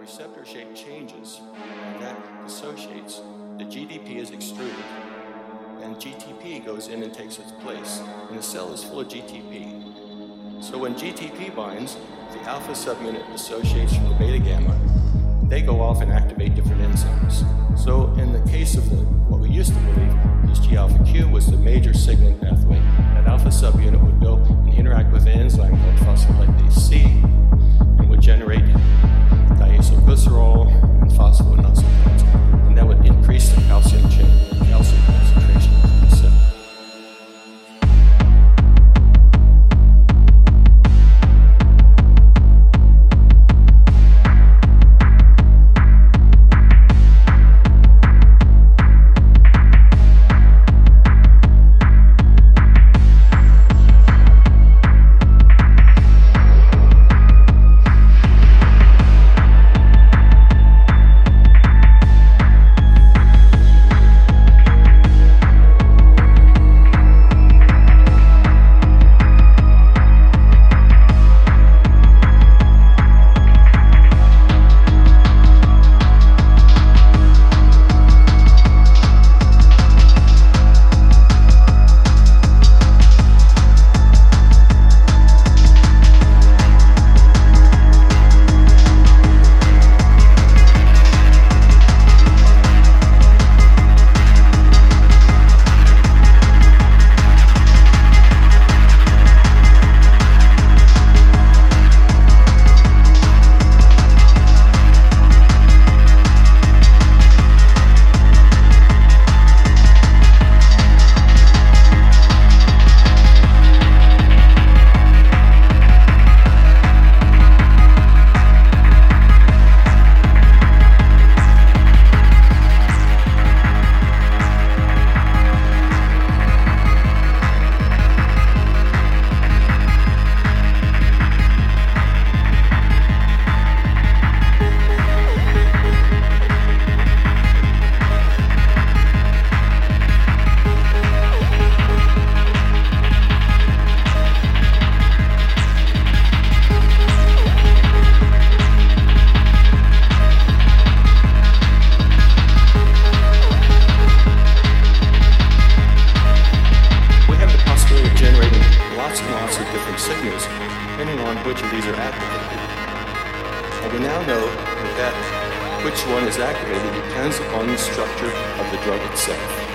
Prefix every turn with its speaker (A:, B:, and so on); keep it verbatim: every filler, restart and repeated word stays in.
A: receptor shape changes, and that dissociates. The G D P is extruded, and G T P goes in and takes its place. And the cell is full of G T P. So when G T P binds, the alpha subunit dissociates from the beta gamma. They go off and activate different enzymes. So in the case of the, what we used to believe is G alpha Q was the major signaling pathway, that alpha subunit would go and interact with an enzyme called phospholipase C and would generate diacylglycerol and phosphonosilones, and that would increase the calcium chain, calcium concentration of the cell. Signals, depending on which of these are activated. And we now know that which one is activated depends upon the structure of the drug itself.